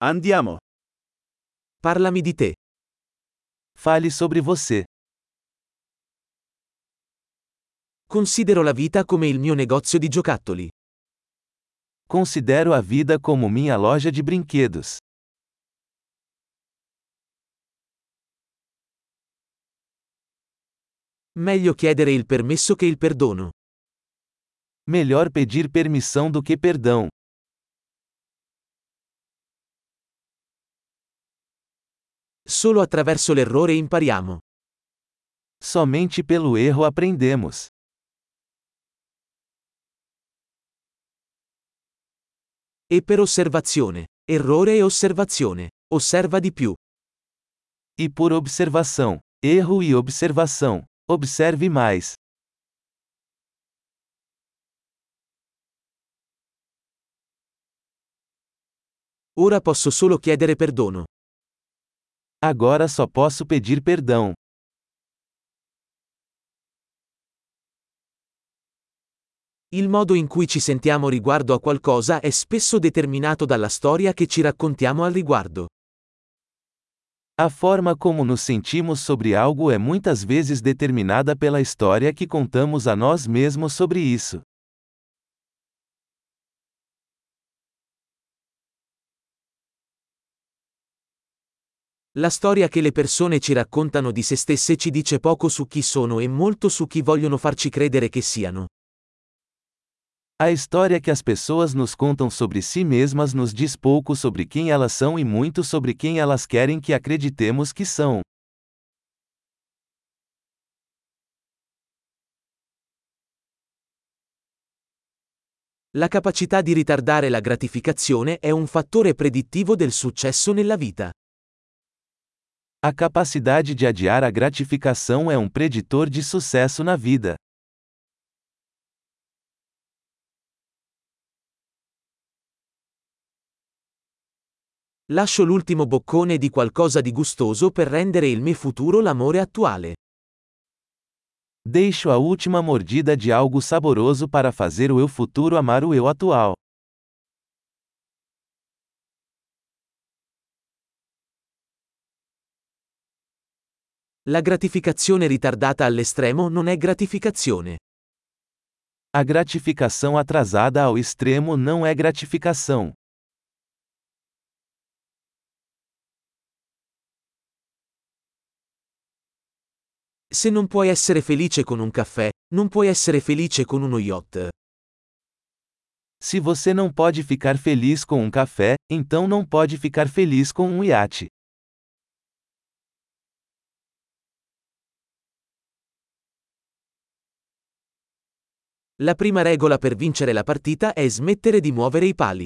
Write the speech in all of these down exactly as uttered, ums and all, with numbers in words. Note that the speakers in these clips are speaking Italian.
Andiamo. Parlami di te. Fale sobre você. Considero la vita come il mio negozio di giocattoli. Considero a vida como minha loja de brinquedos. Meglio chiedere il permesso che il perdono. Melhor pedir permissão do que perdão. Solo attraverso l'errore impariamo. Somente pelo erro aprendemos. E per osservazione. Errore e osservazione. Osserva di più. E por observação. Erro e observação. Observe mais. Ora posso solo chiedere perdono. Agora só posso pedir perdão. Il modo in cui ci sentiamo riguardo a qualcosa è spesso determinato dalla storia che ci raccontiamo al riguardo. A forma como nos sentimos sobre algo é muitas vezes determinada pela história que contamos a nós mesmos sobre isso. La storia che le persone ci raccontano di se stesse ci dice poco su chi sono e molto su chi vogliono farci credere che siano. A história que as pessoas nos contam sobre si mesmas nos diz pouco sobre quem elas são e muito sobre quem elas querem que acreditemos que são. La capacità di ritardare la gratificazione è un fattore predittivo del successo nella vita. A capacidade de adiar a gratificação é um preditor de sucesso na vida. Lascio l'ultimo boccone di qualcosa di gustoso per rendere il mio futuro l'amore attuale. Deixo a última mordida de algo saboroso para fazer o eu futuro amar o eu atual. La gratificazione ritardata all'estremo non è gratificazione. A gratificação atrasada ao extremo não é gratificação. Se non puoi essere felice con un caffè, non puoi essere felice con uno yacht. Se você não pode ficar feliz com um café, então não pode ficar feliz com um iate. La prima regola per vincere la partita è smettere di muovere i pali.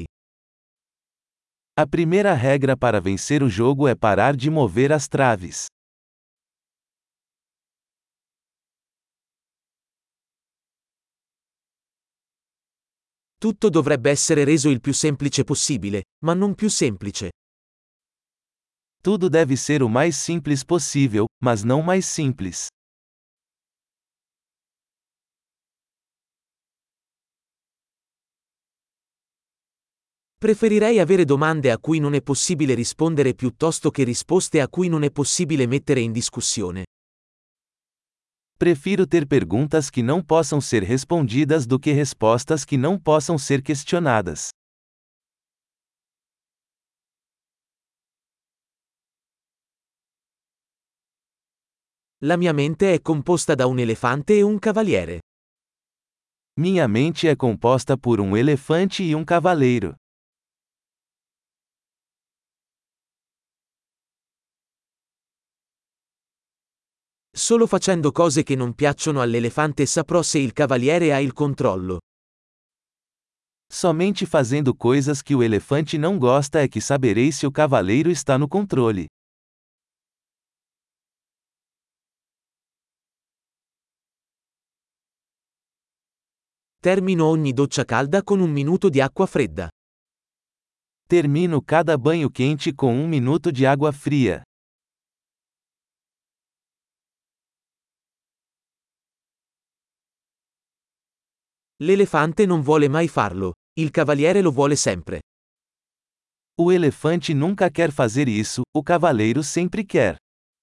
A primeira regra para vencer o jogo é parar de mover as traves. Tutto dovrebbe essere reso il più semplice possibile, ma non più semplice. Tudo deve ser o mais simples possível, mas não mais simples. Preferirei avere domande a cui non è possibile rispondere piuttosto che risposte a cui non è possibile mettere in discussione. Prefiro ter perguntas que não possam ser respondidas do que respostas que não possam ser questionadas. La mia mente è composta da un elefante e un cavaliere. Minha mente é composta por um elefante e um cavaleiro. Solo facendo cose che non piacciono all'elefante saprò se il cavaliere ha il controllo. Somente fazendo coisas que o elefante não gosta é que saberei se o cavaleiro está no controle. Termino ogni doccia calda con un minuto di acqua fredda. Termino cada banho quente com um minuto de água fria. L'elefante non vuole mai farlo, il cavaliere lo vuole sempre. O elefante nunca quer fazer isso, o cavaleiro sempre quer.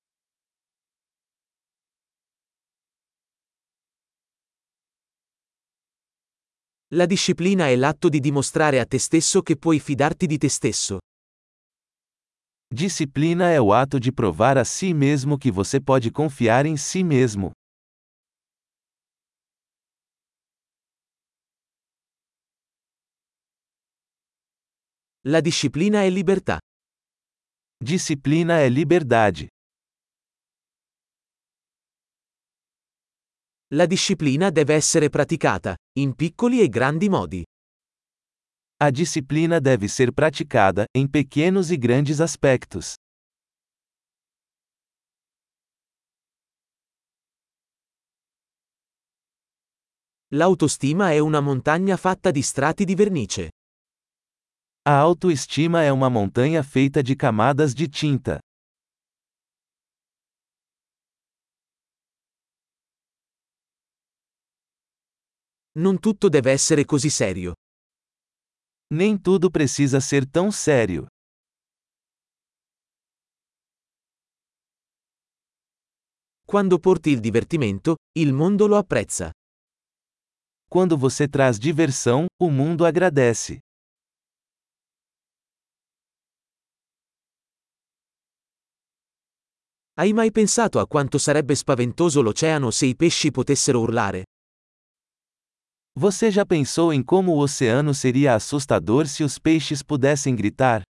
La disciplina è l'atto di dimostrare a te stesso che puoi fidarti di te stesso. Disciplina é o ato de provar a si mesmo que você pode confiar em si mesmo. La disciplina è libertà. Disciplina é liberdade. La disciplina deve essere praticata, in piccoli e grandi modi. A disciplina deve ser praticada, em pequenos e grandes aspectos. L'autostima è una montagna fatta di strati di vernice. A autoestima é uma montanha feita de camadas de tinta. Non tutto deve essere così serio. Nem tudo precisa ser tão sério. Quando porti il divertimento, il mondo lo apprezza. Quando você traz diversão, o mundo agradece. Hai mai pensato a quanto sarebbe spaventoso l'oceano se i pesci potessero urlare? Você já pensou em como o oceano seria assustador se os peixes pudessem gritar?